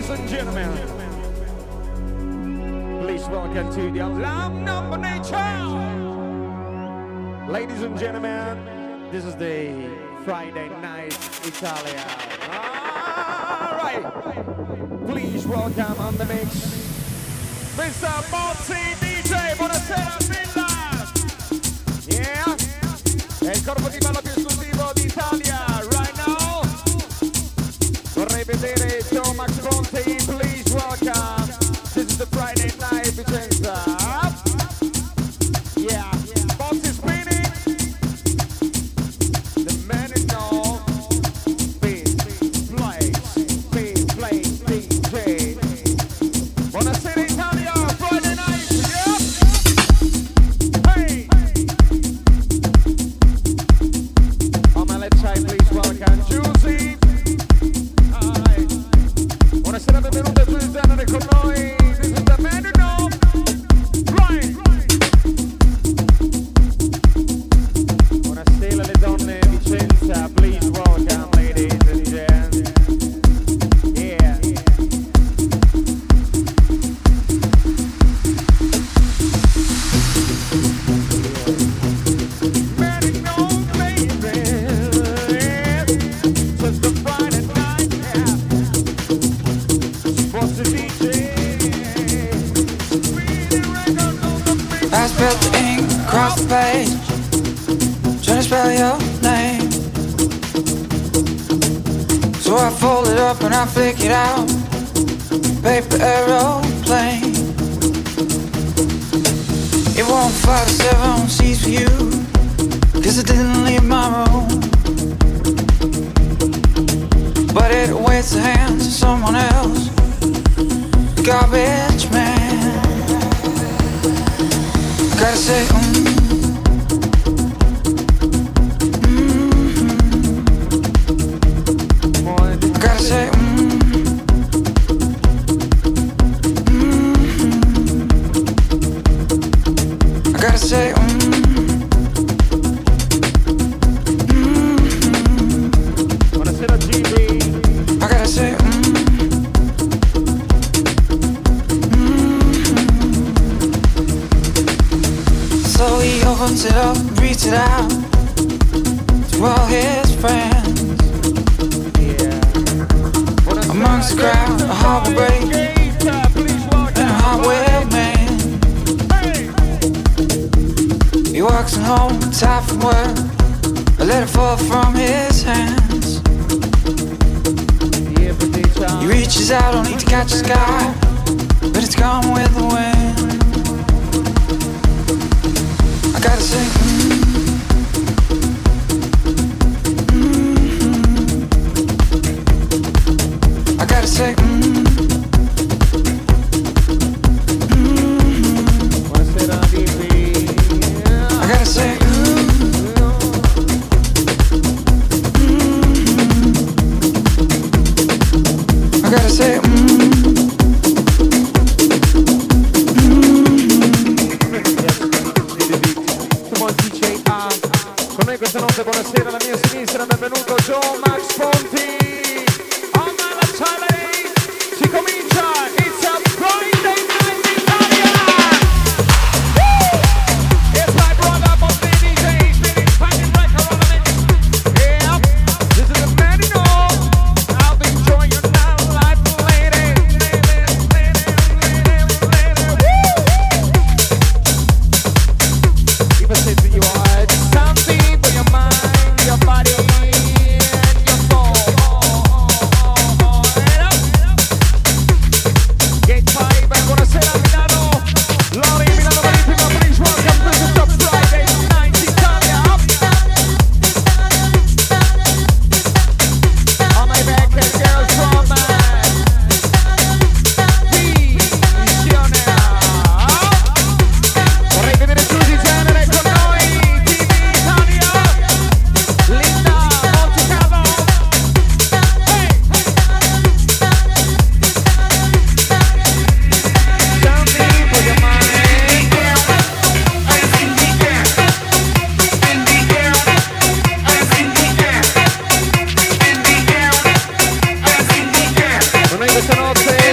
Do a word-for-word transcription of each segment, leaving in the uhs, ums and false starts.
and gentlemen, please welcome to the Alarm Number Nature. Ladies and gentlemen, this is the Friday Night Italia. All right, please welcome on the mix, Mister Mozzi D J. Buonasera, Villa. Yeah, è il corpo di ballo più esclusivo d'Italia. Right now, vorrei vedere Joe Max Ponte. Please welcome. This is the Friday Night Vicenza. Yeah, box is spinning. The man is known. Beat, play, beat, play, D J. Buonasera Italia, Friday night. Yep. Hey. On my left side, please welcome Giusy. Alright. Buonasera, benvenuti a Giusy con noi. This is the man you know. Right. Buonasera alle donne di Vicenza, please welcome ladies and gents. Yeah. Man you know, baby. Just a Friday night, yeah. What's the D J? I spilled the ink across the page, trying to spell your name. So I fold it up and I flick it out, paper aeroplane. It won't fly to seven seats for you, cause I didn't leave my room. But it awaits the hands of someone else, the garbage man. Gotta say, mm, mm-hmm. Gotta say, mm, mm-hmm. I gotta say, mm, mm-hmm. Buonasera G B. I gotta say, mm, so he opens it up, reaches it out to all his friends. Yeah. Amongst the crowd, a harbor break and a hardware man. He walks in home, tired from work, a letter fall from his hands. He reaches out, don't need to catch the sky, but it's gone with the wind. I gotta say, mm, mm-hmm. I gotta say, mm, mm-hmm. Buonasera D B. I gotta say, mm, mm-hmm. I gotta say, mm, Con noi questa notte, buonasera alla mia sinistra, benvenuto Joe Max Ponti. On my left side, si comincia, it's a Friday night Italia. Woo! It's my brother Ponti D J, spinning fucking record on the mix. Yeah, this is the man you know. I'll be enjoying your night life, lady. If I say to you, it's something for your mind, your body, and your soul. Gate five, and buonasera Milano. Lori, Milano Marittima, please welcome to the Friday Night Italia. On my back, there's girls from Visione. Vorrei vedere Giusy Genere con noi, T V Italia, Linda Monticavo. Hey! Something for your mind. Con noi questa notte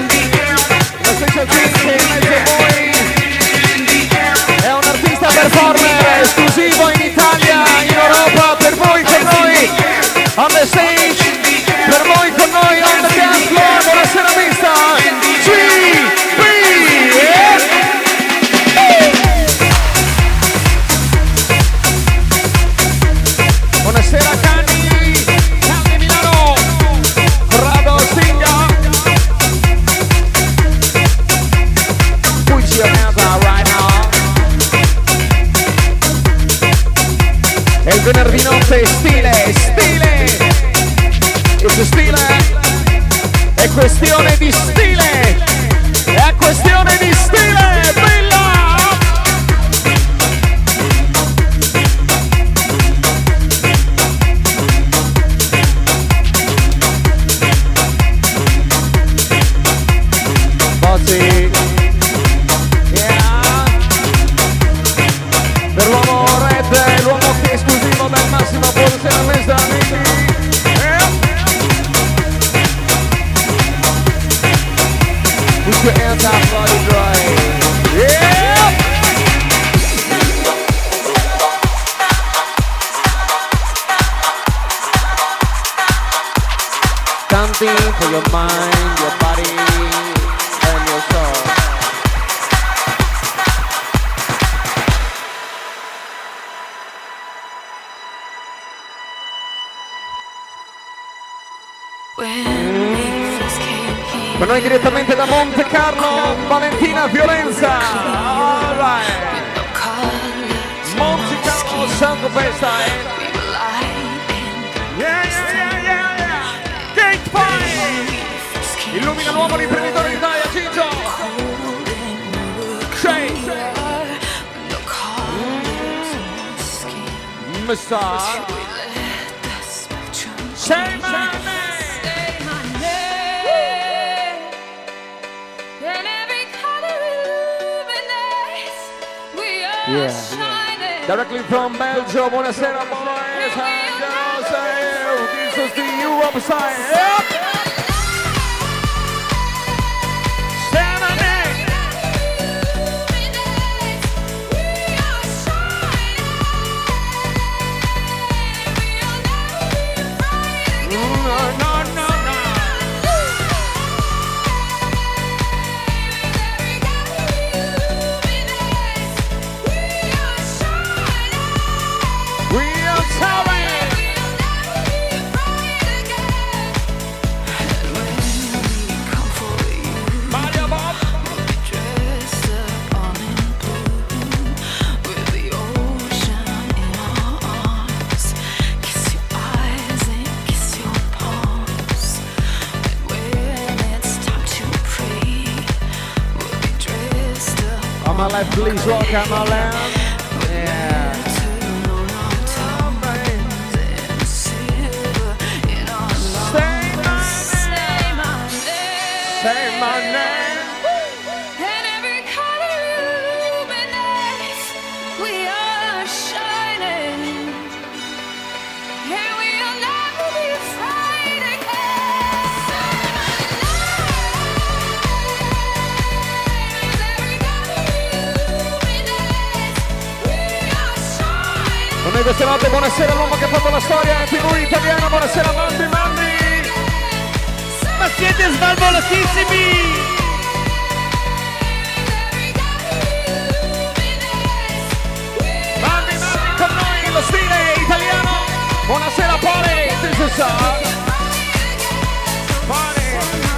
questione di stile, è questione di stile, bella! Bozzi, yeah! Per l'uomo red, l'uomo che è esclusivo del massimo posizionamento amici. Put your hands up, body dry. Yeah! Something for your mind, your body, and your soul. Per noi direttamente da Monte Carlo, Valentina Violenza. All right. Monte Carlo, Santo Pesta. Yeah, yeah, yeah, yeah, yeah. Gate Five. Illumina l'uomo l'imprenditore d'Italia, Gigio. Shay. Mister. Say my name. Yeah. Directly from Belgium, buonasera boys and girls, this is the Europe side. Yep. My life, please welcome our land. Yeah. Say my name. Say my name. And every color illuminates. We are shining. And we'll never be afraid again. Con noi questa notte, buonasera all'uomo che ha fatto la storia in tivù italiana, buonasera Mandi Mandi! Ma siete svalvolatissimi! Mandi Mandi con noi, lo stile italiano! Buonasera Poli, this is us! Poli!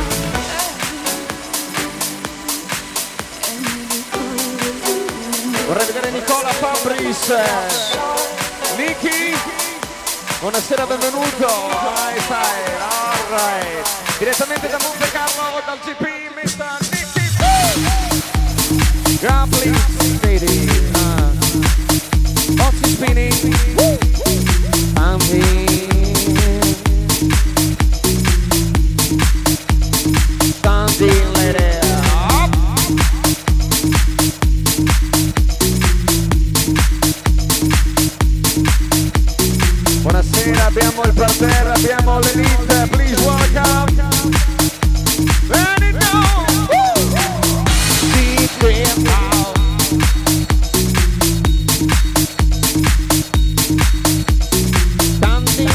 Vorrei vedere Nicola Fabris, Niki, buonasera, benvenuto, hi, hi, all right, direttamente da Monte Carlo, dal G P, mister Niki, Grappling City, uh, Boxy Spinning, I'm here, standing lady. Buonasera, abbiamo il parterre, abbiamo l'elite, please welcome. Let it go. Deep in out. Tanti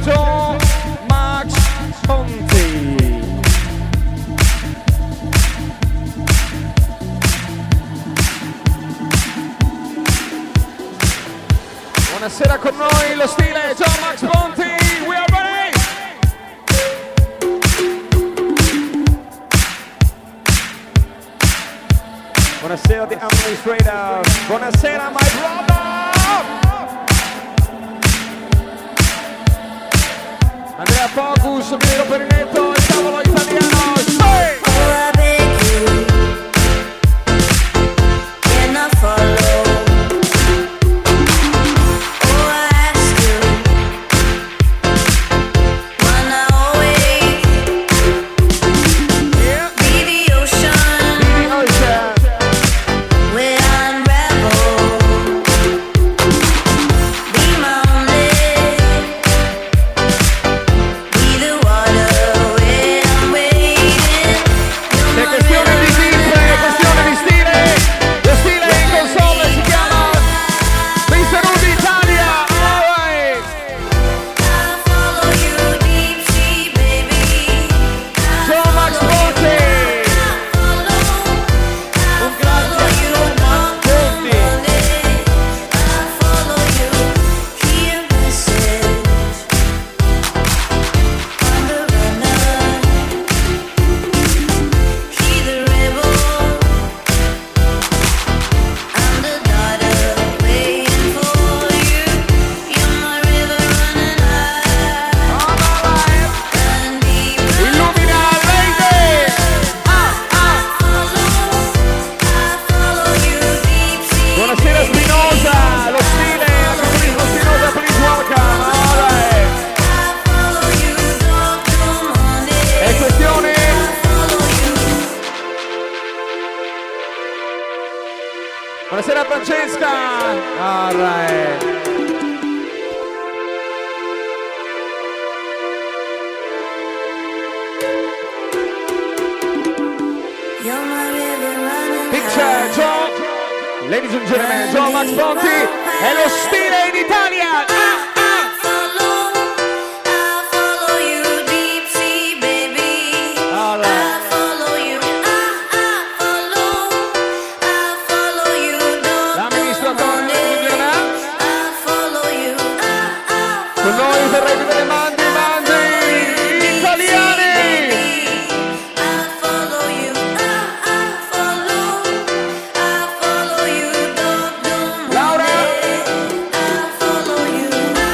Joe Max Ponti. Buonasera con noi lo stile Joe Max Ponti. We are ready. Buonasera the administrator. Buonasera my brother. Andrea Focus, Miro Perinetto, il tavolo italiano. Sei! Oh, I beg you, can I follow? Oh, I ask you, why not always Yeah. be the ocean The ocean. where I unravel? Be my only, be the water where I'm waiting. You're È my questione di river timbre, è questione di stile. Lo stile in console si chiama mister Rudy Italia. All right. I follow you deep sea, baby. Joe Max Ponti. Un grazie a Joe Max Ponti. I follow you, hear message. I'm the runner, he the rebel. I'm the daughter waiting for you. You're my river running high. All right. And deep Illumina Lady. Buonasera Spinosa, lo stile, la capolino Spinosa, please welcome. All right. È questione. Buonasera Francesca. All right. Picture Joe. Ladies and gentlemen, Joe Max Ponti è lo stile in Italia. Ah, ah. All right. L'amministratore funzionerà. Con noi vorrei vedere mandi, mandi italiani. Laura.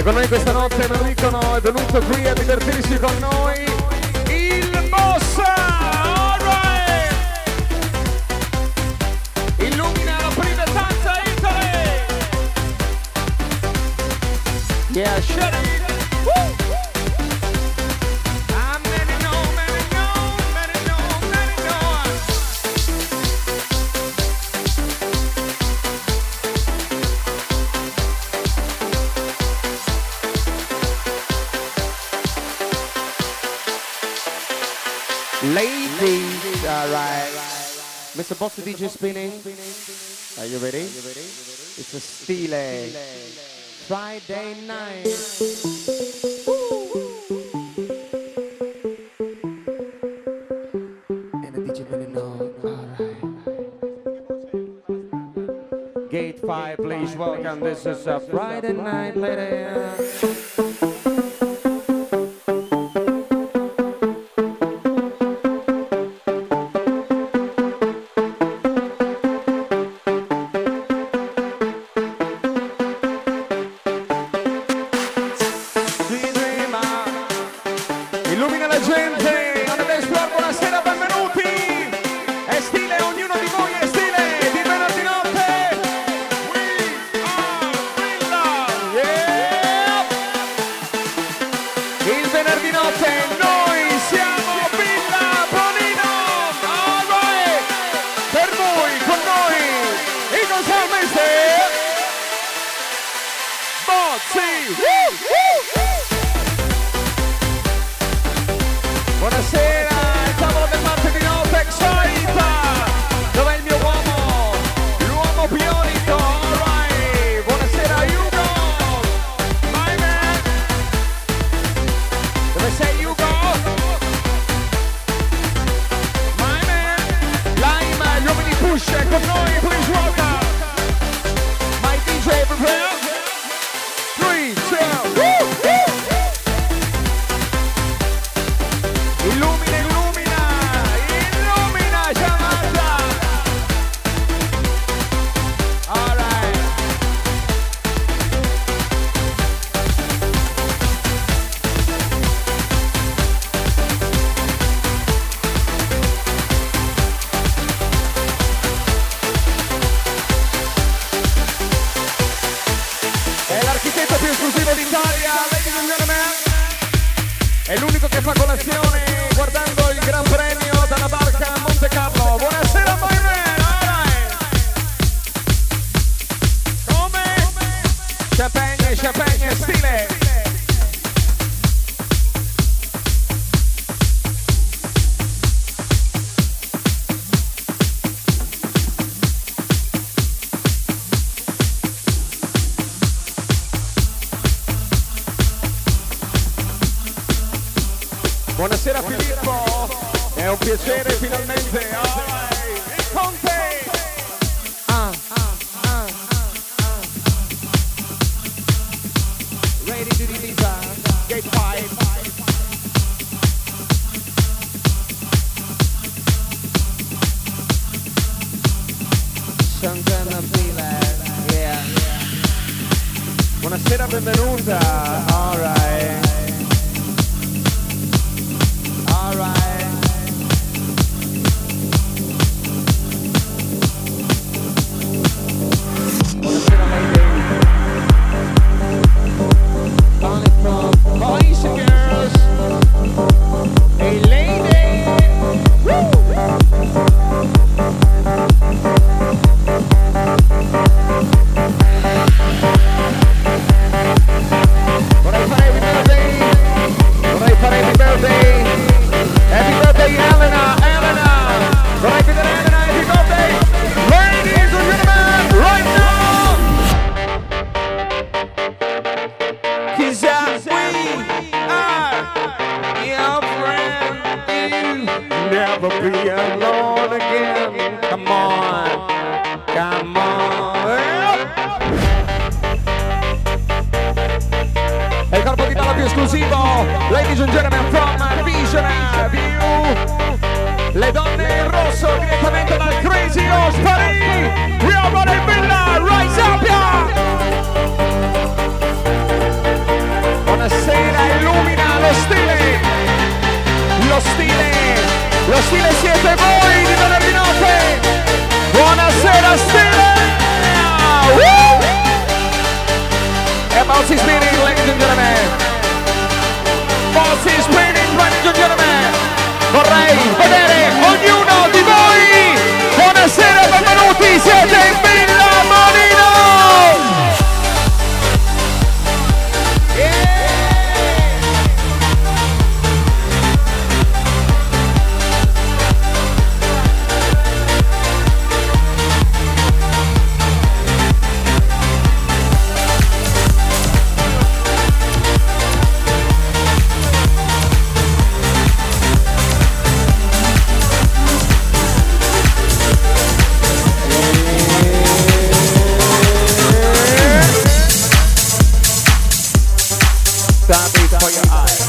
E con noi questa notte me lo dicono, è venuto qui a divertirsi con noi il Mossa! Alright! Illumina la prima stanza Italy! Yeah, shut it! Woo! I'm many know, many know, many know, many know. Ladies, alright. Mister Bossy D J spinning. Are you ready? It's a Stile Friday night. And the D J really know. Alright. Gate five, please welcome. This is a Friday night, ladies. Buonasera Filippo, è un piacere finalmente. Alright, il Conte. Ah, ah, ah, ah. Ready to release Gate five. Santana Feeling, yeah. Buonasera, benvenuta. Alright. Lo stile siete voi di venerdì notte. Buonasera stile. Woo! E Bouncy Spinning, ladies and gentlemen. Bouncy Spinning, ladies and gentlemen. Vorrei vedere ognuno di voi. Buonasera, benvenuti, siete in Villa Marino. Yeah. For your eyes.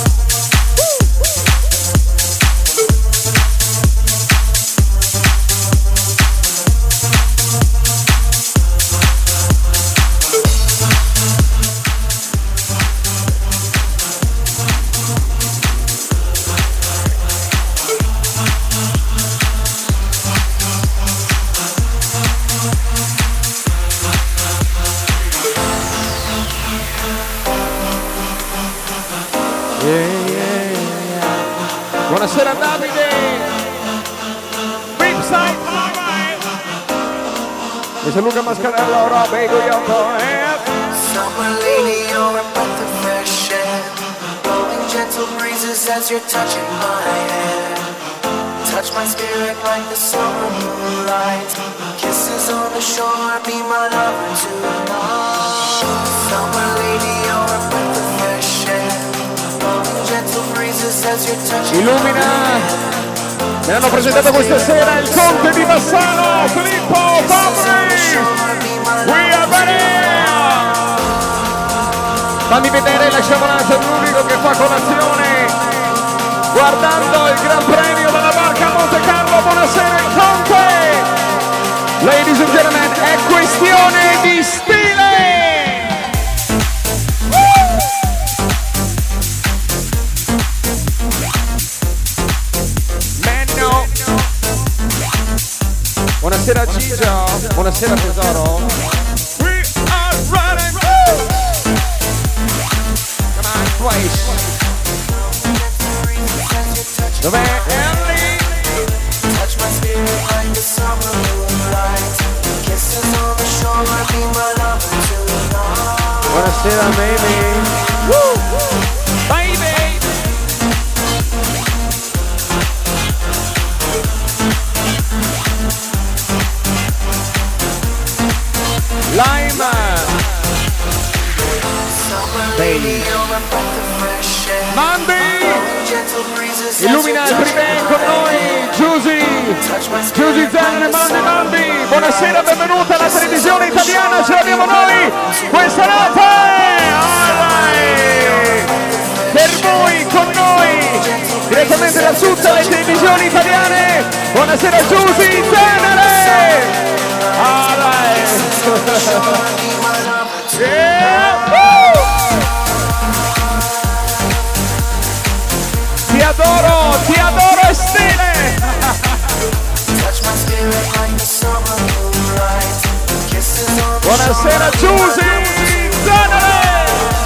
Buonasera Davide. Ripside. Mister Luca Mascarello, Rob Egoyoko. Summer lady, you're a breath of fresh air, blowing gentle breezes as you're touching my hair. Touch my spirit like the summer moonlight. Kisses on the shore, be my lover tonight. Summer lady, you're a breath of fresh air, blowing gentle breezes as you're touching my Illumina. hair. Mi hanno presentato questa sera il conte di Bassano, Filippo Fabri. We are ready. Fammi vedere la sciamonata, l'unico che fa colazione guardando il Gran Premio della barca Monte Carlo. Buonasera il conte. Ladies and gentlemen, è questione di stile. Buonasera Gigio, buonasera tesoro. We are running. Come on, twice. Dov'è Ellie? Touch my spirit like the summer moonlight. Kisses on the shore, be my lover tonight. Buonasera baby. Woo! Baby. Lime. Baby. Mandy. Illumina il prime con noi. Giusy. Giusy Zen, Mandy Mandy. Buonasera, benvenuta alla televisione italiana. Ce l'abbiamo noi questa notte. Alright. Per voi, con noi, direttamente da tutte le televisioni italiane. Buonasera Giusy Zen. Alright. Yeah. Woo. Ti adoro, ti adoro e stile. Buonasera Giusy Zanere.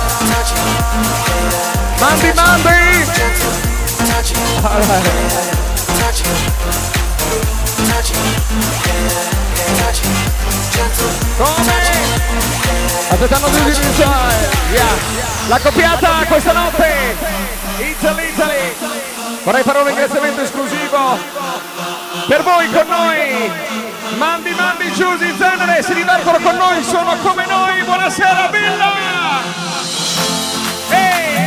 Mandi Mandi. Alright. Come? Aspettando di iniziare. Yeah. La coppiata questa notte. Italy, Italy. Vorrei fare un ringraziamento esclusivo per voi con noi. Mandi, Mandi, Giusy, Zenere. Si divertono con noi, sono come noi. Buonasera Villa. Hey.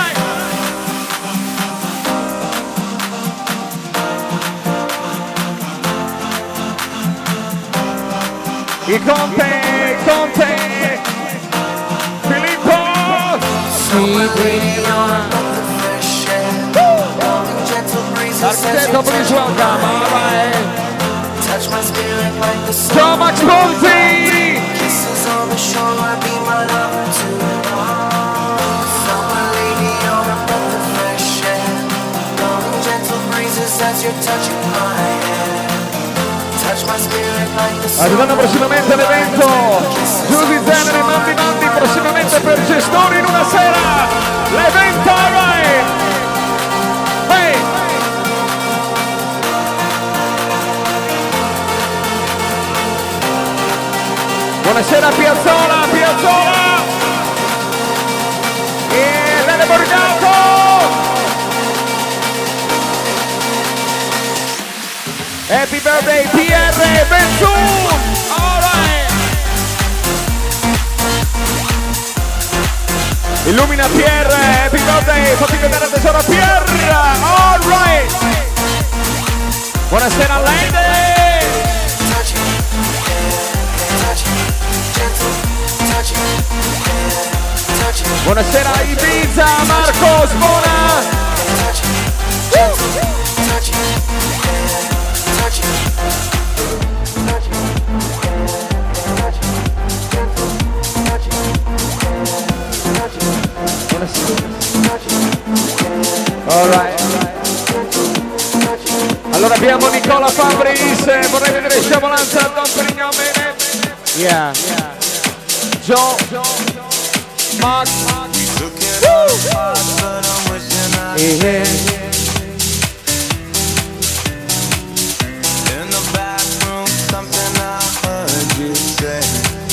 Il Conte, Conte, Filippo, Architetto, please welcome, alright. So much Conte. Kisses on the shore, be my lover tonight. Summer lady, you're a breath of fresh air, blowing gentle breezes as you're touching my hand. Touch my spirit like the sun. Arrivano prossimamente l'evento Giusy Zenere e Mandi Mandi, prossimamente per gestori in una sera. L'evento, alright! Hey! Buonasera Piazzola, Piazzola! E Lele Borgato! Happy birthday P R Benzoon! Alright! Illumina P R, happy birthday, fatti vedere tesoro P R! Alright! Buonasera Lady! Touch it, touch it, gentle, touch it, touch it. Buonasera Ibiza, Marco Sbona! Touch it, gentle, touch it, touch it. Alright. Allora abbiamo Nicola Fabris, vorrei vedere sciavolanza Don Perignon bene. Yeah. Joe, Mark, yeah. In the bathroom, something I heard you say.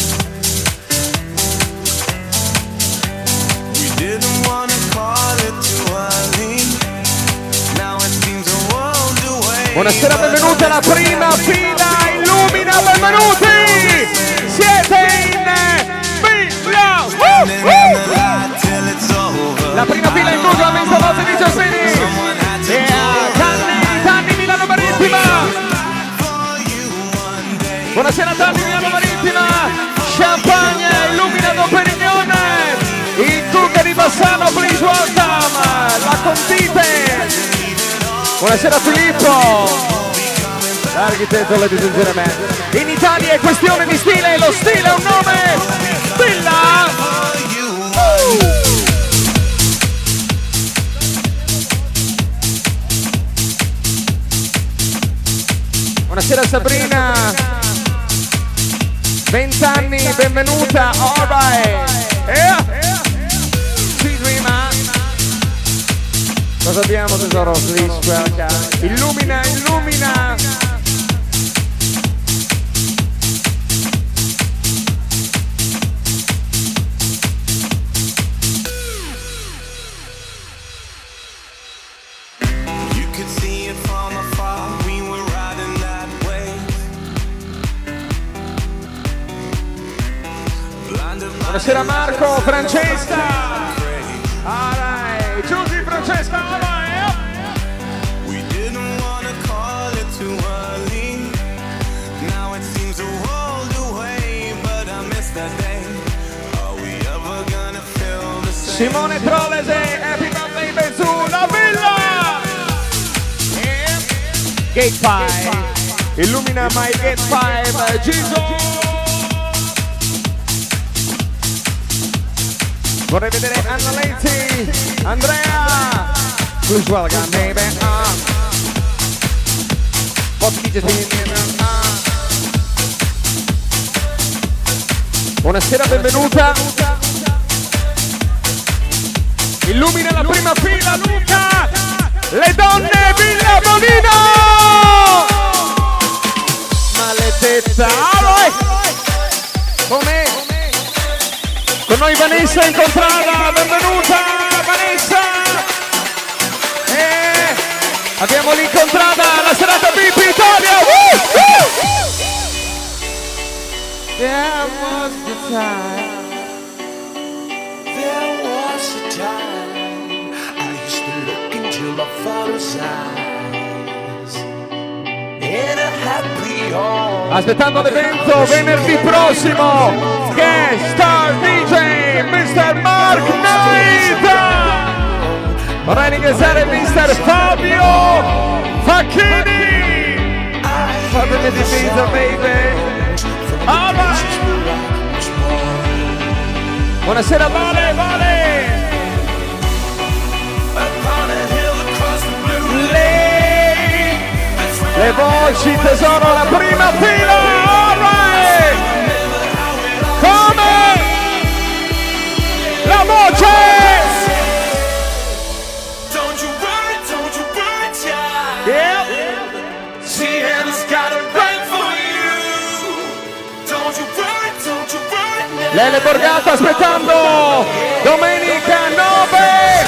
We didn't want to call it too early. Now it seems a world away. Buonasera, benvenuti alla prima fila, Illumina, benvenuti! Siete in fila! Uh, uh, uh. La prima fila inclusa la messa voce di Giaspini! Yeah, Tanni, Tanni Milano Marittima! Buonasera Tanni Milano Marittima! Champagne, Illumina Don Perignon! Il Cucca di Bassano, please welcome! La Contite! Buonasera Filippo! L'architetto, ladies and gentlemen. In Italia è questione di stile, lo stile è un nome! Stilla! Uh. Buonasera Sabrina, vent'anni, benvenuta, alright, yeah. Sweet Rima. Cosa abbiamo tesoro? Please welcome. Illumina, illumina. Buonasera Marco, Francesca! Alright, Giusy, Francesca, alright! We didn't want to call it too early. Now it seems a world away, but I miss that day. Are we ever gonna feel the same? Simone Trollese, happy birthday Benzoon, la villa! Yeah. Gate five, illumina my Gate five, Giso! Vorrei vedere Anna Lenti, Andrea, please welcome baby. Uh. Buonasera, benvenuta. Illumina la prima fila, Luca. Le donne, Villa Bonino. Maledetta. Alright. Come? Con noi Vanessa Incontrada, benvenuta Vanessa! E abbiamo l'incontrata alla serata B I P Italia! Woo! Woo! There was the time. There was a time I used to look into my father's eyes in a happy home. Aspettando l'evento venerdì prossimo! Guest star D J mister Mark Knight! Vorrei ringraziare mister Fabio Facchini! Fatemi di pizza, baby! Alright! Buonasera Vale, Vale! Upon a hill across the blue Lady! Le voci tesoro, la prima fila, alright! Come? La voce! Don't you worry, don't you worry, child. Yeah. She has got a plan for you. Don't you worry, don't you worry. Lele Borgata aspettando domenica nove,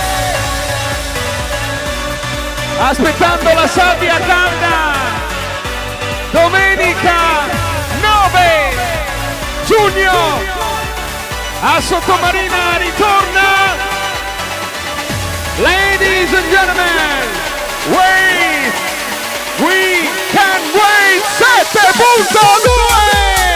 aspettando la sabbia calda, domenica nove giugno a Sottomarina ritorna. Ladies and gentlemen, wait, we can wait sette punto due.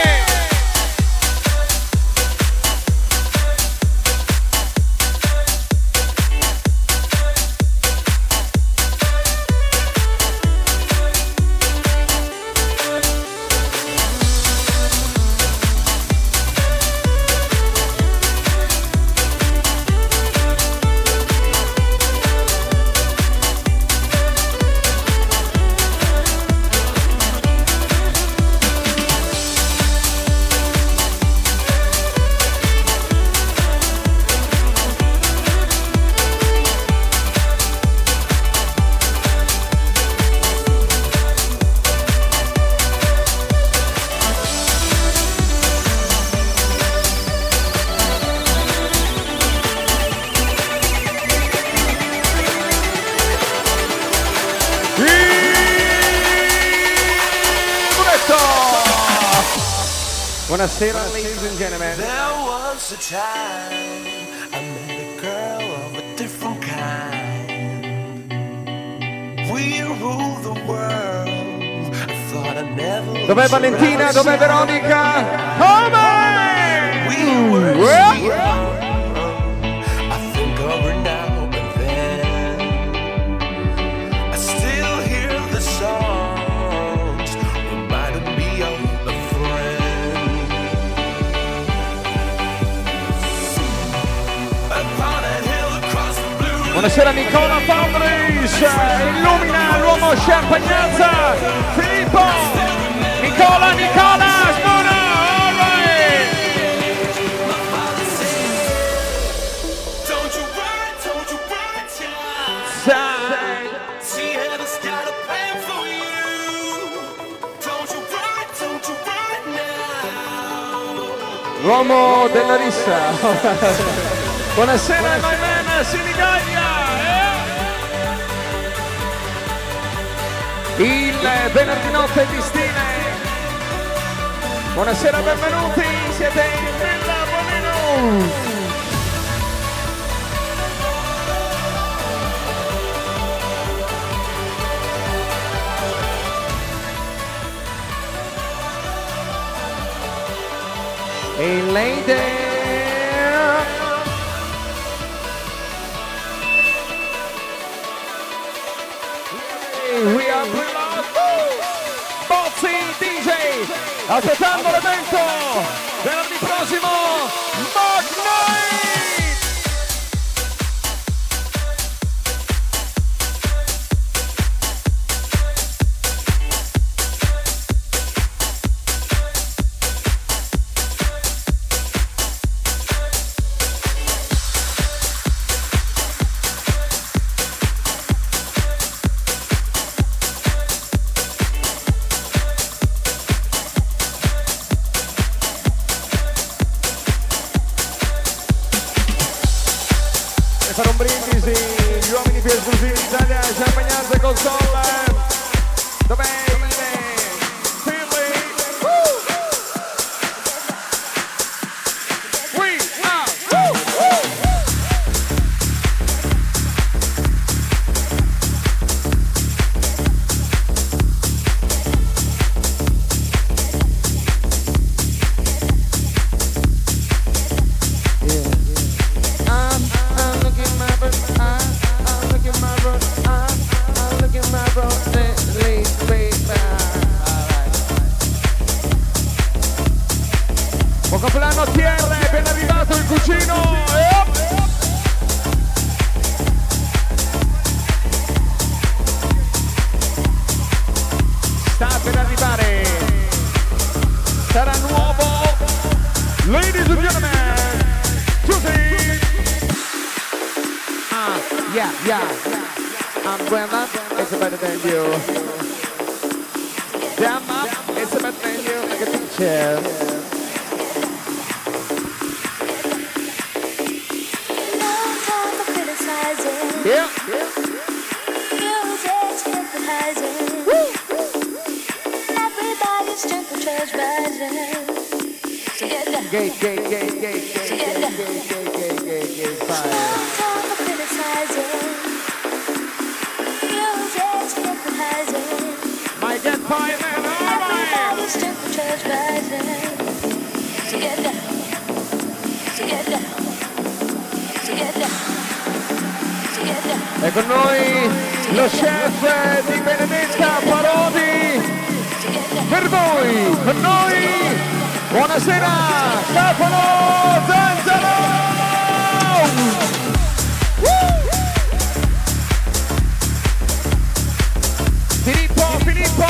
Buonasera, ladies and gentlemen. There was a time I met a girl of a different kind. We ruled the world. I thought I'd never. Dov'è Valentina? Dov'è Veronica? Come? We were Well. young. I think of her now and then. I still hear the songs reminding me of a friend. Upon a hill across the blue. Buonasera Nicola Fabris, illumina l'uomo Champagnazza, Filippo, Nicola, Nicola, Smona, all right. Don't you worry, don't you worry, child. Sai. She has got a plan for you. Don't you worry, don't you worry now. L'uomo della rissa. Buonasera my man, Sinigaglia. Eh? Il venerdì notte di stile. Buonasera, benvenuti, siete in Villa Bonino. Hey lady. We are Bozzi D J, aspettando l'evento venerdì prossimo, Mark Knight. Fare un brindisi, gli uomini più esclusivi d'Italia, Champagnazza Console. Dov'è il Philly? Woo! We are woo, woo. Buon compleanno T R, è ben arrivato il cugino. Yep. sta per arrivare, sarà nuovo, ladies and gentlemen, Tuesday. Ah, yeah, yeah, umbrella, it's better than you. Jam up, it's better than you, like a teacher. Yeah. Music's hypnotizing. Everybody's strength church rising. So get down. Gate, gate, gate, gate, gate, So get gate, down. gate, gate, gate, gate, gate, No fire. time for criticizing. Music's hypnotizing. Might get fire, man, alright. Everybody's strength church rising. So get down. So get down. So get down. So get down. E con noi lo chef di Benedetta Parodi. Per voi, con noi, buonasera, Stefano Zanzaro! Woo! Filippo, Filippo!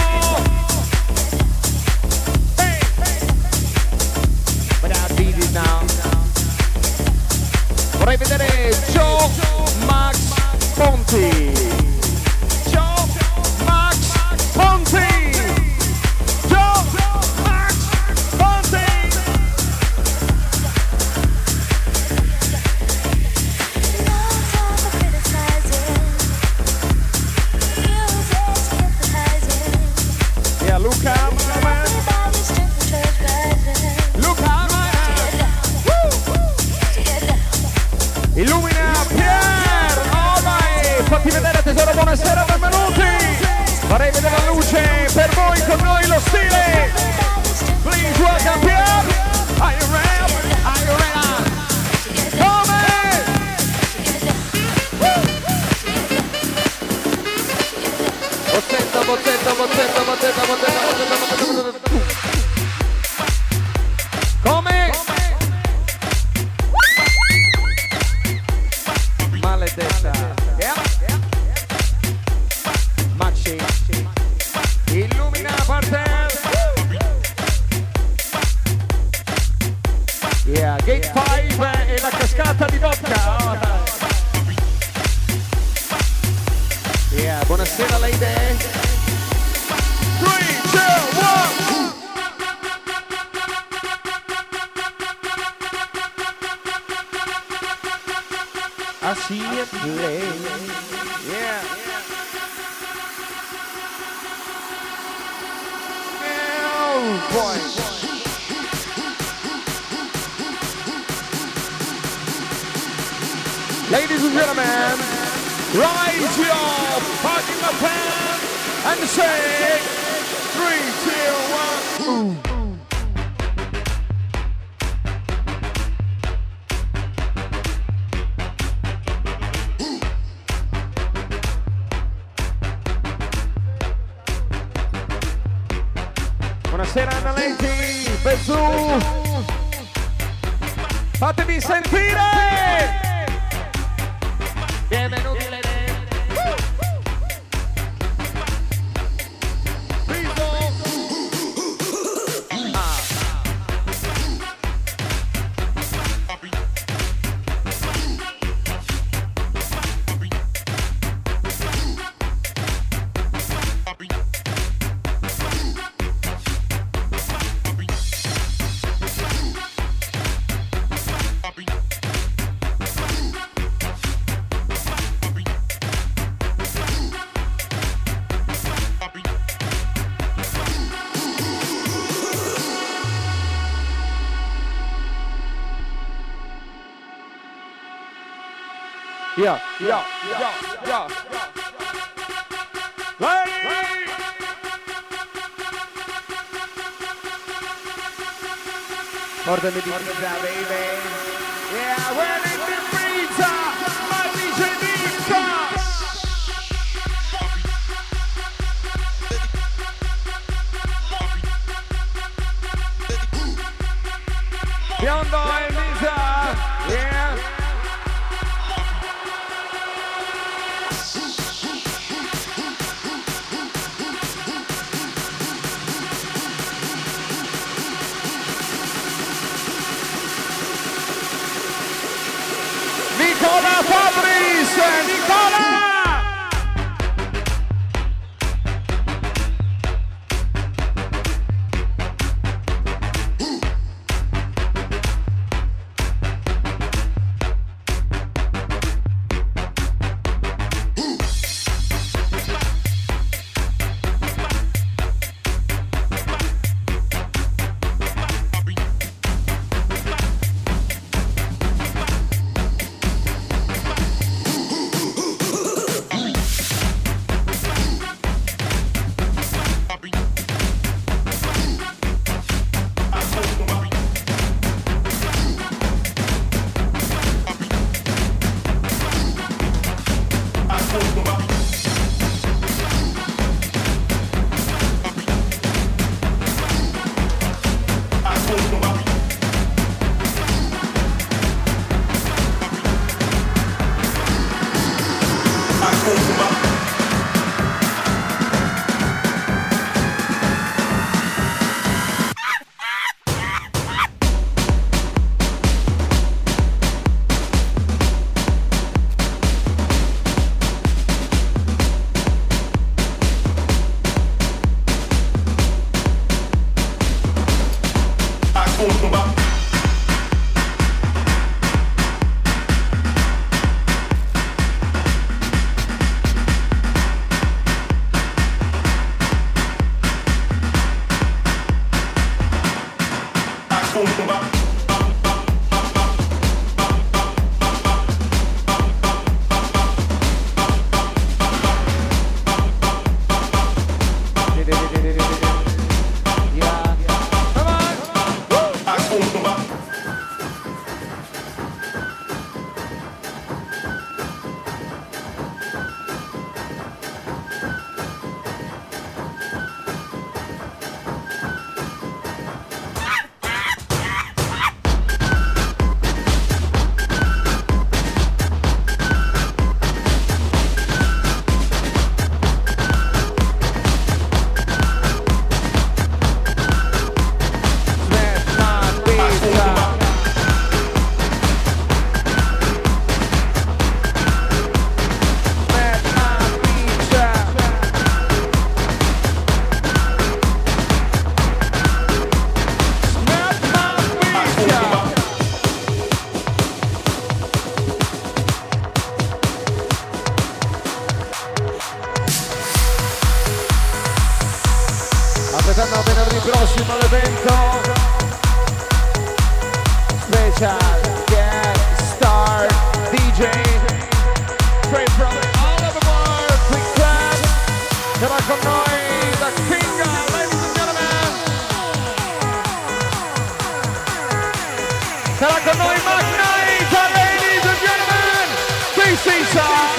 Hey! But I beat it now. Vorrei vedere Joe Max Ponti. Joe Max Ponti. Joe Max Ponti. No time for criticizing. Music's hypnotizing. Yeah, Luca, my man. Everybody's strength church rising. Luca, my man. Woo! Illumina Pier. Alright, fatti vedere tesoro, buonasera, benvenuti. Farei vedere la luce per voi, con noi lo stile. Please welcome Pier. Are you ready? Are you ready? Come? Bozzetta, bozzetta, bozzetta, bozzetta, bozzetta, bozzetta, bozzetta. Come? Maledetta. Yeah. Maxi. Illumina parterre. Yeah, Gate cinque e la cascata di vodka. Yeah, buonasera lady. three, two, one. I see it play. Yeah. Oh boy. Ladies and gentlemen, rise your parking lot pen and say three, two, one. Ooh. Buonasera Anna Lenti, Bezzu, fatevi sentire! Benvenuti Lady! Ah. Yeah, yeah, yeah, yeah. Lady! Portami di pizza, baby. Yeah, we're in the pizza. My D J pizza. Biondo e Lisa. Yeah. Nicola! Aspettando venerdì prossimo all'evento special guest star D J straight from all over the world, Quick Club. Sarà con noi da Kinga, ladies and gentlemen. Sarà con noi Mac Knight, ladies and gentlemen. This is our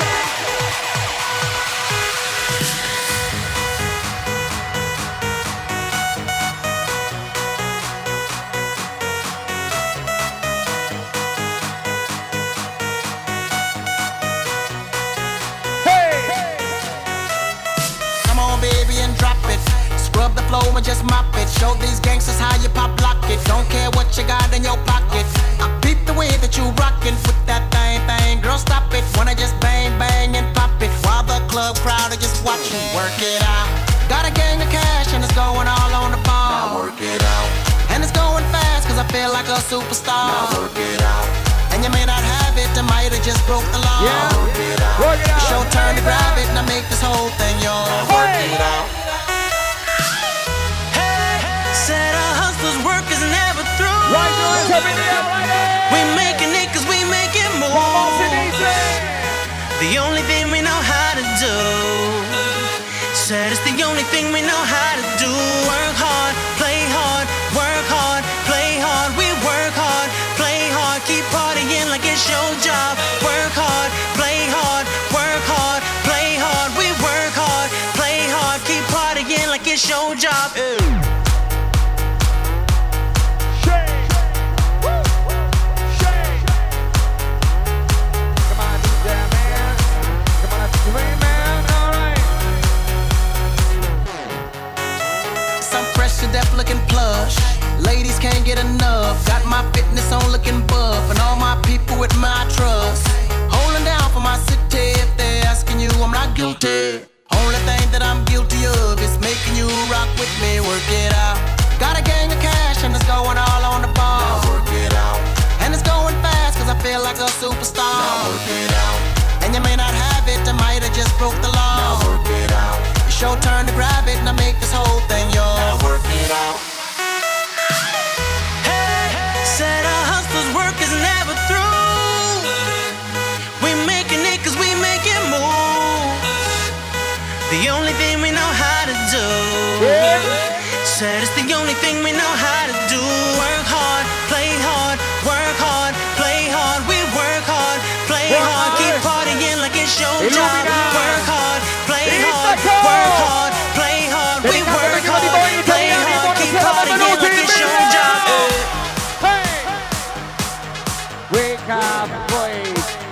and just mop it. Show these gangsters how you pop lock it. Don't care what you got in your pocket. I peep the way that you rockin' with that thing thing. Girl, stop it. Wanna just bang bang and pop it while the club crowd are just watching. Work it out. Got a gang of cash and it's going all on the ball. Now work it out. And it's going fast cause I feel like a superstar. Now work it out. And you may not have it, I might have just broke the law. Yeah. Work it out. Work it out. It's your turn to grab it and I make this whole thing yours. Work it out. Said our hustler's work is never through. Right now, it's in the air, right there. We making it cause we making more. The only thing we know how to do. Said it's the only thing we know how to do. Work hard, play hard, work hard, play hard. We work hard, play hard, keep partying like it's your job. Work hard, play hard, work hard, play hard. We work hard, play hard, keep partying like it's your job. Ew. Deaf looking plush, ladies can't get enough. Got my fitness on looking buff, and all my people with my trust. Holding down for my city. If they're asking you, I'm not guilty. Only thing that I'm guilty of is making you rock with me, work it out. Got a gang of cash and it's going all on the ball. Now work it out. And it's going fast cause I feel like a superstar. Now work it out. And you may not have it, I might have just broke the law. Now work it out. It's your turn to grab it and I make this whole thing yours. Now work it out. Hey, said a hustler's work is never through. We making it cause we make it move. The only thing we know how to do. Yeah. Said it's the only thing we know how to do. Work hard, play hard, work hard, play hard. We work hard, play work hard, hard, keep partying like it's your Illumina. Job. Work hard, play hard, work hard, play hard. We work hard, play hard, keep partying like it's your job. Hey, wake up, boys.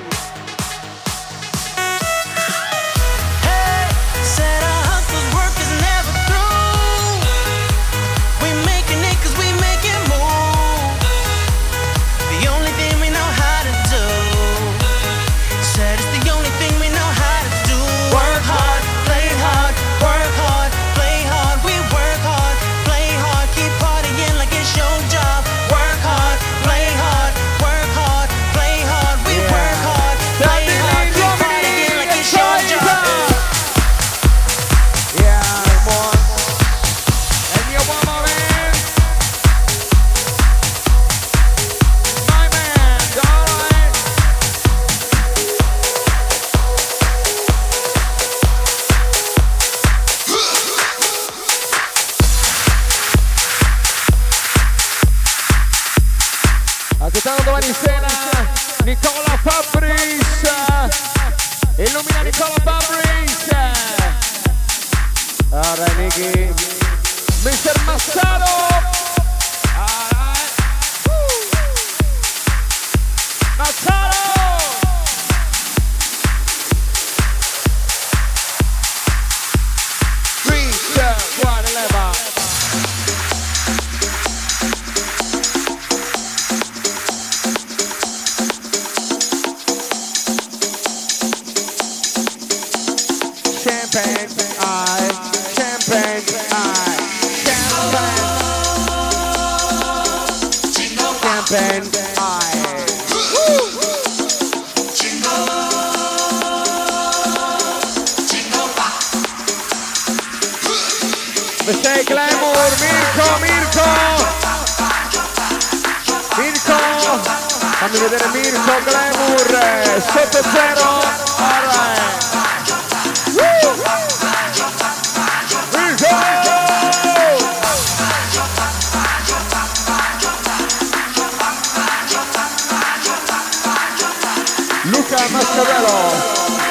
Domani sera Nicola Fabris, illumina Nicola Fabris. Allora Nicky, mister Massaro. Alright. Massaro. three, two, one, eleven. Champagne, I, champagne, I, champagne, champagne, I. Mistake Glamour, Mirko, Mirko, Mirko, fammi vedere Mirko Glamour, sotto zero, alright. Luca Mascarello.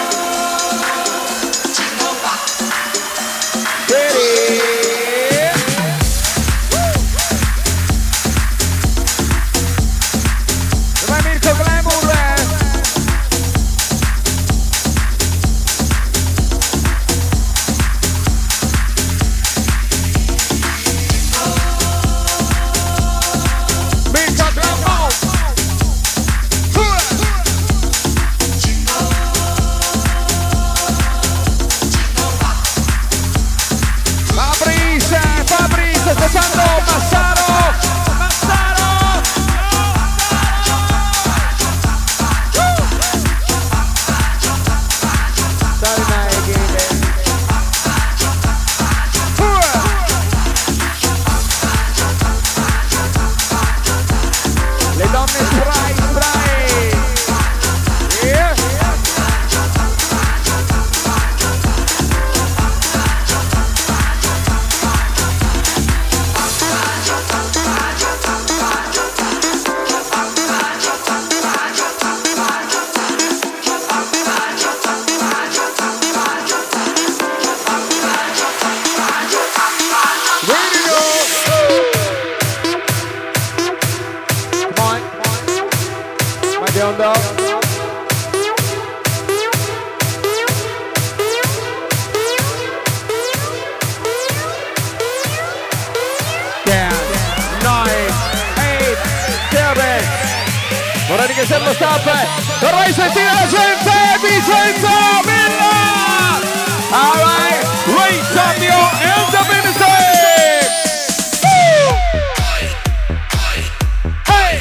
Vai Mirko Glamour. biondo. Vorrei che sia lo stop, vorrei sentire la gente. Vicenza Villa! Alright, raise up your hands up in the stage! Hey!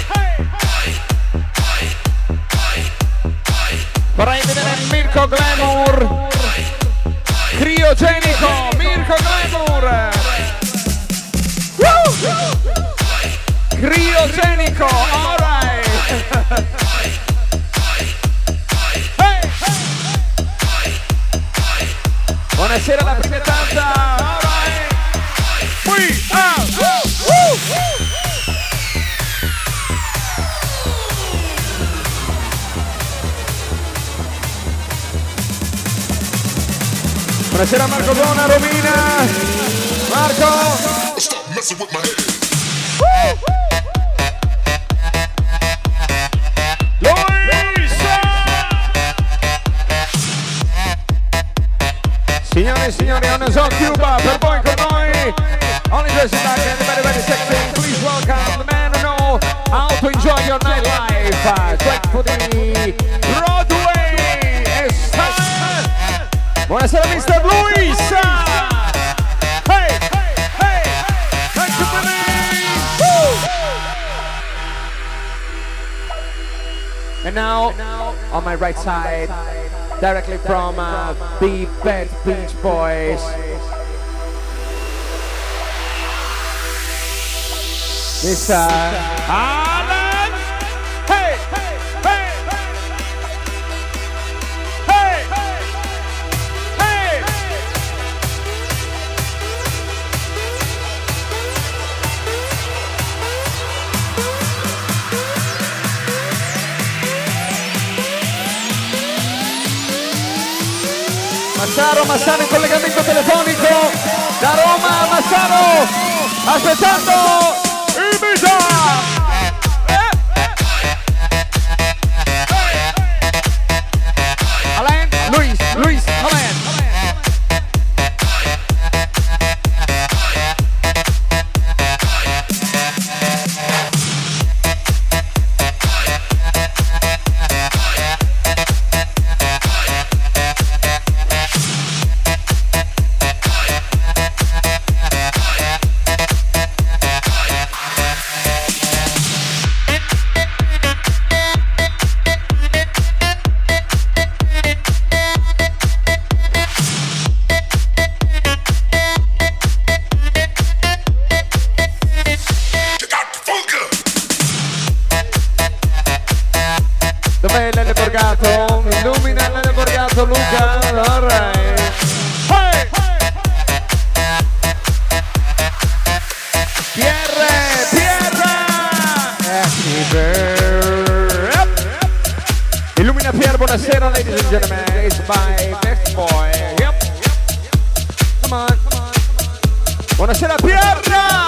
Vorrei vedere Mirko Glamour! Criogenico, Mirko Glamour! Woo! Criogenico, alright! Buonasera alla primitanza! Alright! We are! Woo! Buonasera Marco Dona, Romina! Marco! Stop messing with my head! Signore e signori, on is on Cuba, per voi con noi. Only dressing back and very, very sexy. Please welcome the man who know how to enjoy your nightlife. Uh, Straight for the Broadway. It's time. Buonasera mister Luis. Hey, hey, hey. Thanks for coming. And now, on my right side, directly from uh, the Bad Beach Boys. Mister Alan. Hey, hey, hey, hey, hey. Massaro, Massaro in collegamento telefonico da Roma, Massaro aspettando Ibiza. Eh, eh. Alain, Luis, Luis, Alain. Illumina Lele Borgato, Luca, alright. Hey! Pierre, Pierre! Yep. Illumina Pierre, buonasera ladies and gentlemen, it's my next boy. Yep. Come on, come on. Buonasera Pierre!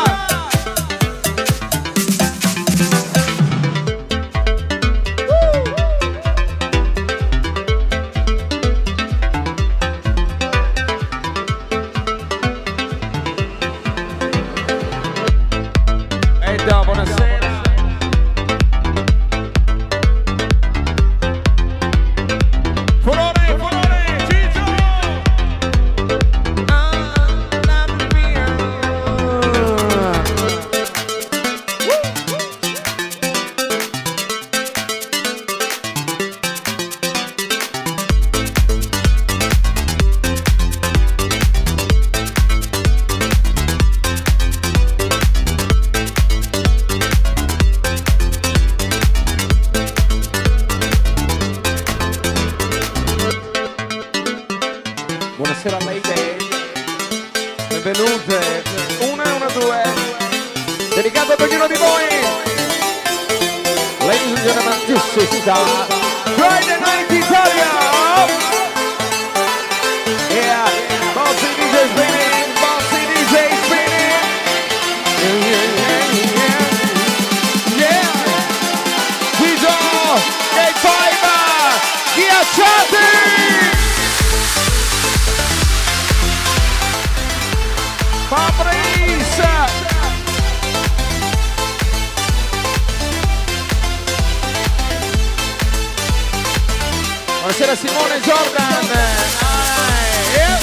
Friday Night Italia! Yeah, Bossy D J spinning, Bossy D J spinning! Yeah, yeah, yeah, yeah! Guido, Gate Five, ghiacciati! Fabrice! Buonasera Simone Jordan. Right. Yeah.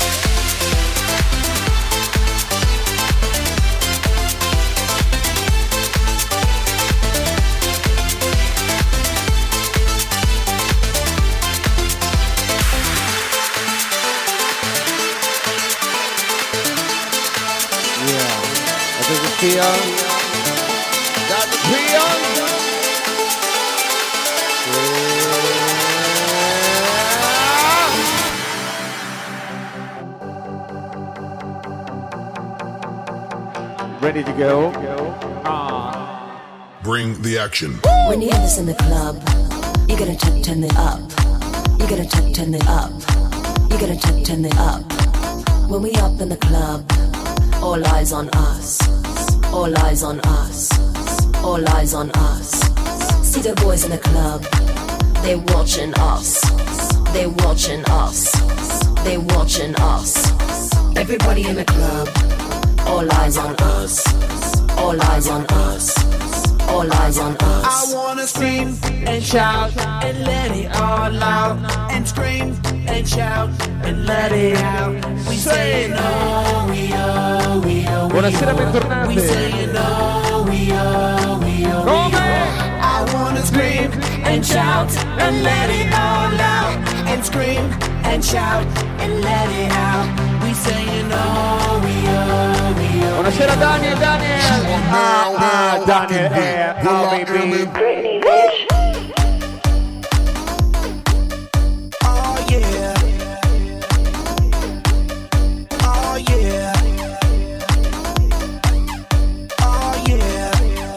Does it feel? Got the feel? Yeah. Ready to go? Ah. Bring the action. When you hear this in the club, you gotta turn, turn it up. You gotta turn, turn it up. You gotta turn, turn it up. When we up in the club, all eyes on us. All eyes on us. All eyes on us. See the boys in the club. They watching us. They watching us. They watching us. Everybody in the club. All eyes on us. All eyes on us. All eyes on us. I wanna scream and shout and let it all out. And scream and shout and let it out. We say no, we oh, we oh, we Buonasera, bentornati. We say no, we oh, we oh, we oh. I wanna scream and shout and let it all out. And scream and shout and let it out. We say no, we oh, we oh. Buonasera Daniel, Daniel. Ah, ah, Daniel, eh, oh baby. Britney, bitch. Oh yeah. Oh yeah. Oh yeah.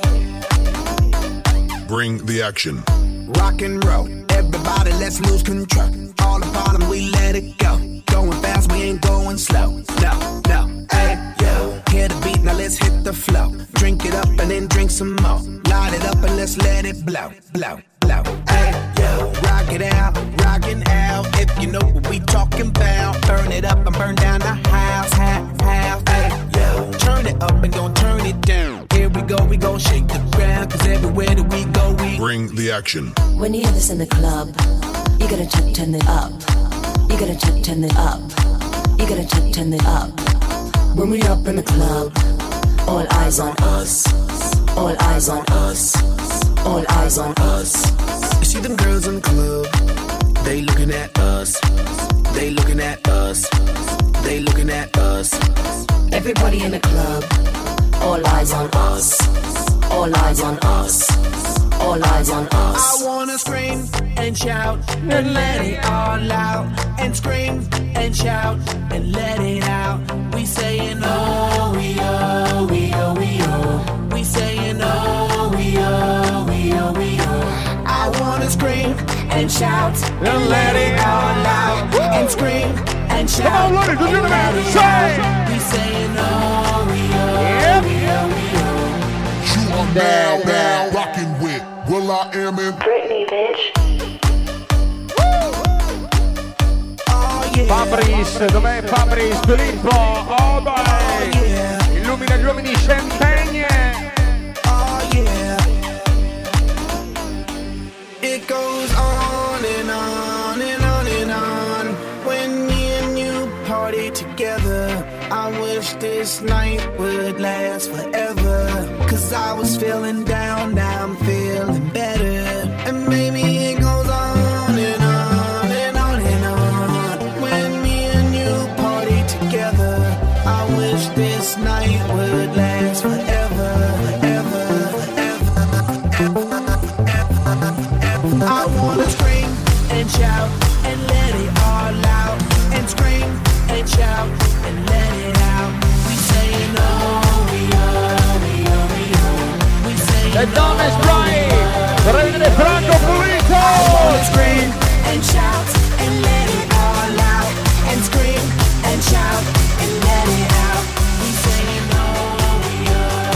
Bring the action. Rock and roll, everybody let's lose control. All the bottom we let it go. Going fast, we ain't going slow. No, no, hey, yo. Hear the beat, now let's hit the flow. Drink it up and then drink some more. Light it up and let's let it blow, blow, blow. Hey, yo. Rock it out, rockin' out. If you know what we talking about. Burn it up and burn down the house, half, half. Hey, yo. Turn it up and gon' turn it down. Here we go, we gon' shake the ground. Cause everywhere that we go, we bring the action. When you hear this in the club, you gotta turn, turn it up. You gotta turn, turn it up. You gotta turn, turn it up. When we up in the club, all eyes on us. All eyes on us. All eyes on us. You see them girls in the club, they looking at us. They looking at us. They looking at us. Everybody in the club, all eyes on us. All eyes on us. All eyes on us. I wanna scream and shout and let it all out. And scream and shout and let it out. We saying oh, we oh, we oh, we oh. We saying oh, we oh, we oh, we oh. I wanna scream and shout and let it all out. And scream and shout. Come on, ladies and gentlemen, say. We saying oh, we oh, we oh, we oh. You are now, now rocking with Will I Am in Britney, bitch. Oh yeah. Fabrice, dov'è Fabrice? Filippo, oh boy. Oh yeah. Illumina gli uomini champagne. Oh yeah. It goes on and on and on and on. When me and you party together, I wish this night would last forever. Cause I was feeling down, now I'm feeling better. And maybe it goes on and on and on and on. When me and you party together, I wish this night would last forever, forever, forever, forever. I wanna scream and shout and let it all out. And scream and shout and let it out. We saying oh, we oh, we oh, we oh. We saying Le donne spray, prendere Franco Pulito. I wanna scream and shout and let it all out. And scream and shout and let it out. We saying oh, we oh.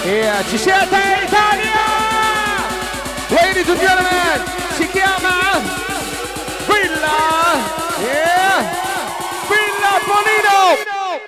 Yeah, ci siete Italia! Ladies and gentlemen, si chiama Villa, yeah, Villa Bonino!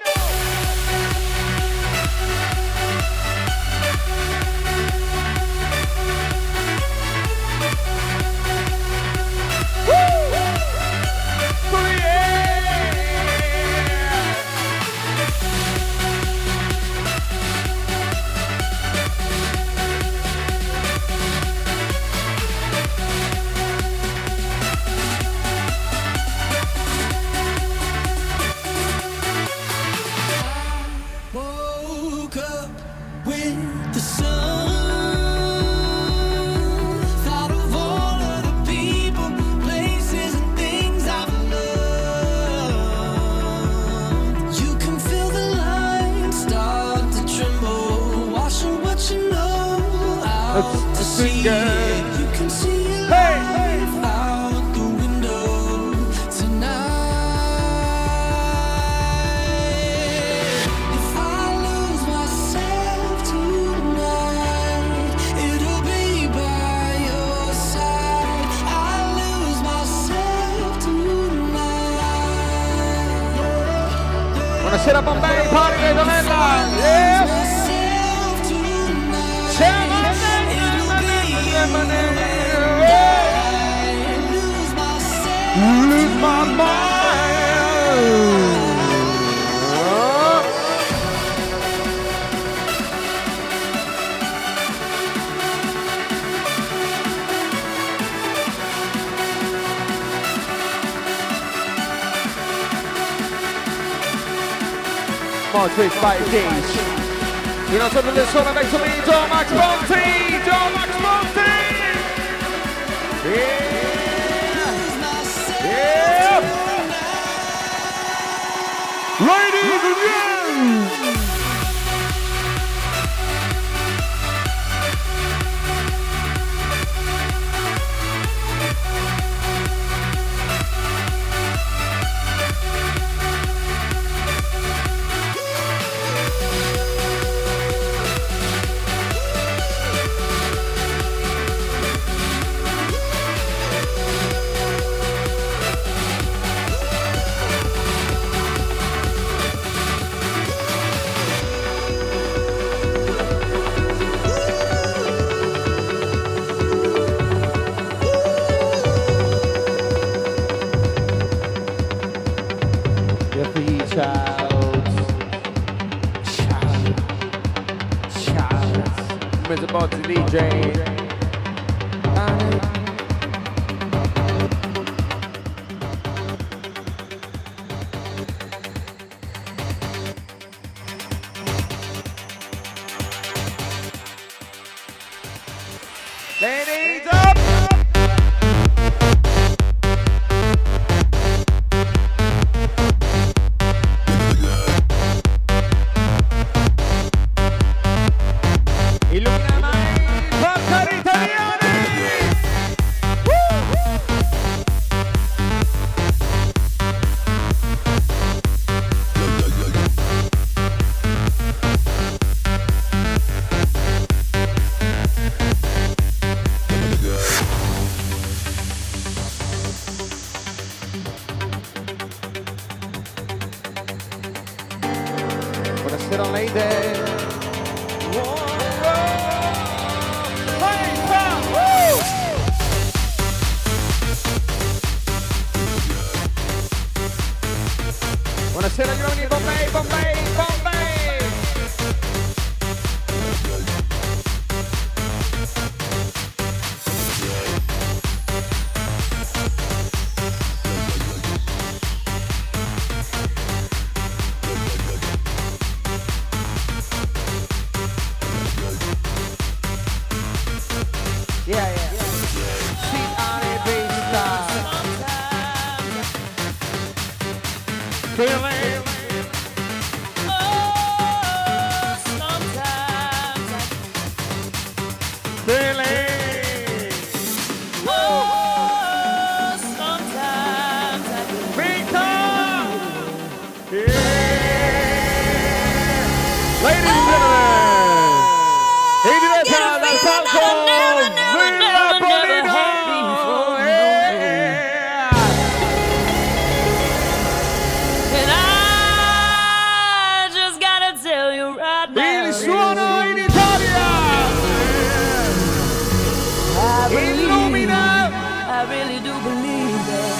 Buonasera Bombay, party di Donella! Yeah! Lose my mind! More tweets by Kings. You know something that's sort of next to me, John Max Bonte! John Max Bonte! Yeah! Yeah! Ladies and gentlemen! Mister Botsy D J. Ladies up! Buonasera lady. Buonasera gli uomini, Bombay, Bombay, Bombay. Yeah, yeah. Sweet honey, baby star. Feeling. Oh, sometimes I feeling. Oh, sometimes I become. Yeah. Ladies and gentlemen. I really do believe that.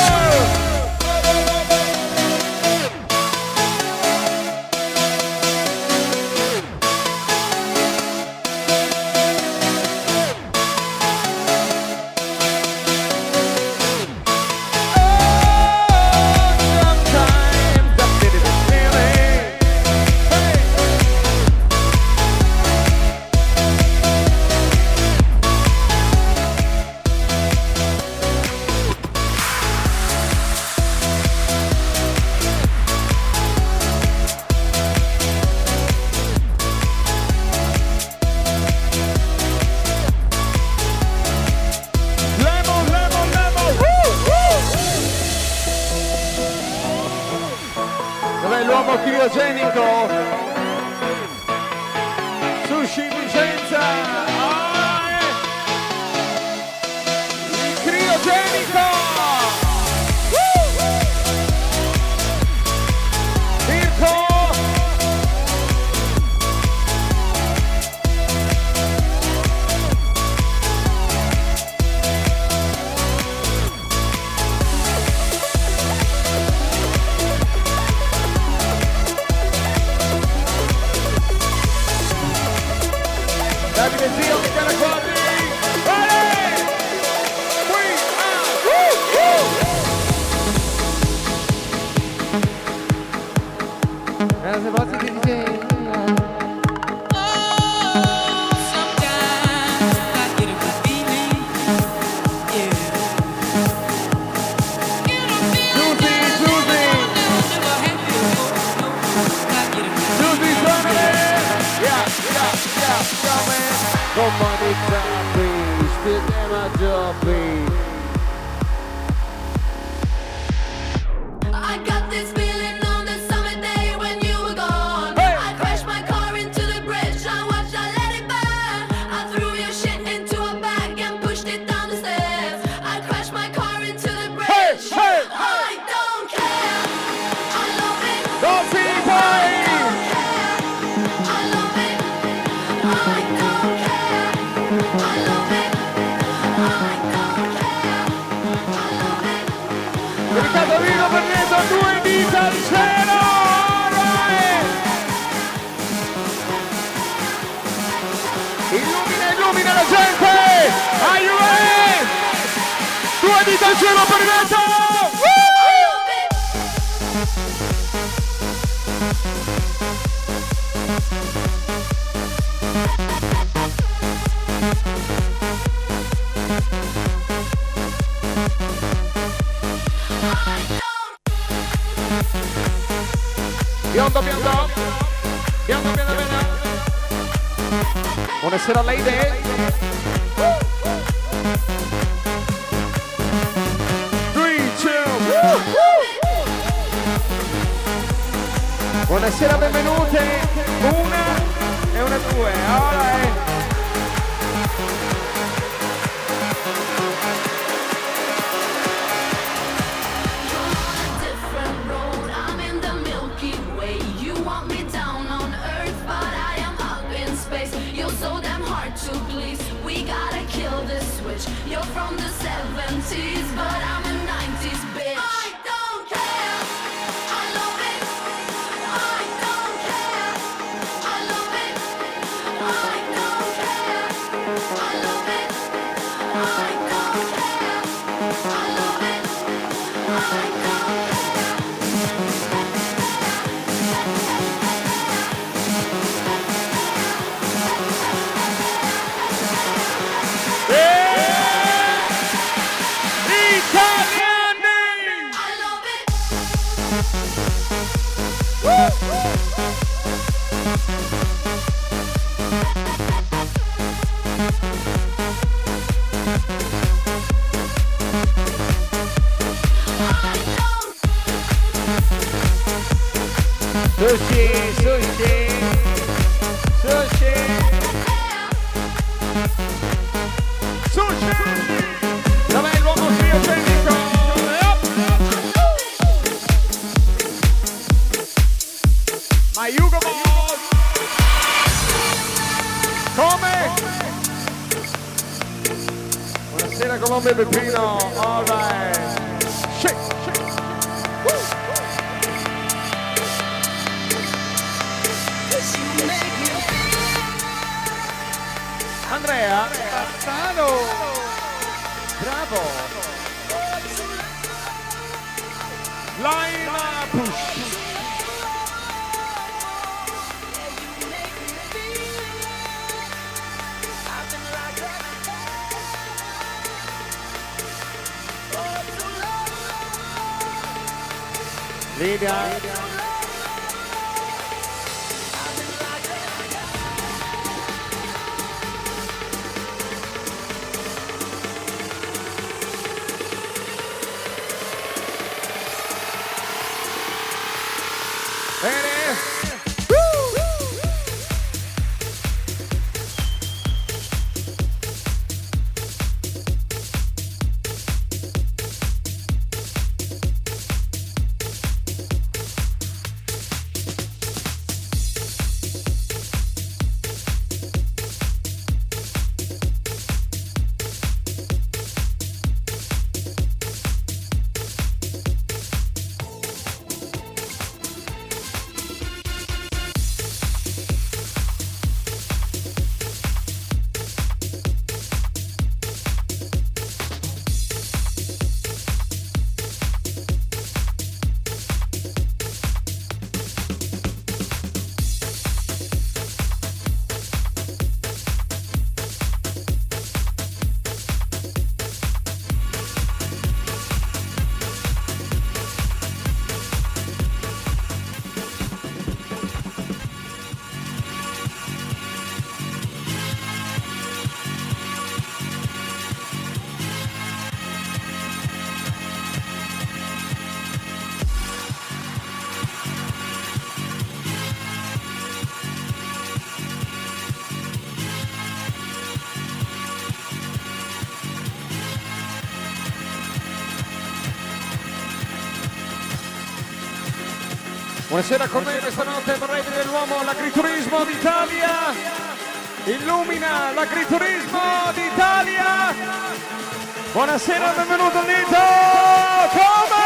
Dov'è l'uomo criogenico? Sushi Vicenza! Ah, eh. Il criogenico! Mirko! Davide Zio, Michele Quadri! Vale! Qui! Ah! Woo! Woo! As a boss D J. Come on, it's a beach, still never drop it. I got this feeling on the summer day when you were gone. Hey. I crashed my car into the bridge, I watched, I let it burn. I threw your shit into a bag and pushed it down the stairs. I crashed my car into the bridge. Hey. Hey. I don't care. I love it. Don't be boy. I love it. I don't care. I love it. I don't care. I love it. Riccardo Vino per Neto, due dita al cielo! Right. Illumina, illumina la gente! Are you ready? Due dita al cielo per Neto! Biondo, biondo, biondo, biondo, biondo. Buonasera lady. Three, two, buonasera, benvenute. Una e una due. Alright. You're from the seventies, but I'm a nineties bitch. I don't care. I love it. I don't care. I love it. I don't care. I love it. I don't care. I love it. I don't care. Sushi, sushi, sushi, sushi. Dov'è l'uomo criogenico? Ma Hugo Boss! Come? Buonasera Colombo e Peppino. All right. Shake, shake. Woo. Andrea Bassano. Bravo. Line push. Liga. Buonasera con me questa notte vorrei vedere l'uomo, l'agriturismo d'Italia. Illumina l'agriturismo d'Italia. Buonasera, benvenuto Nito. Come?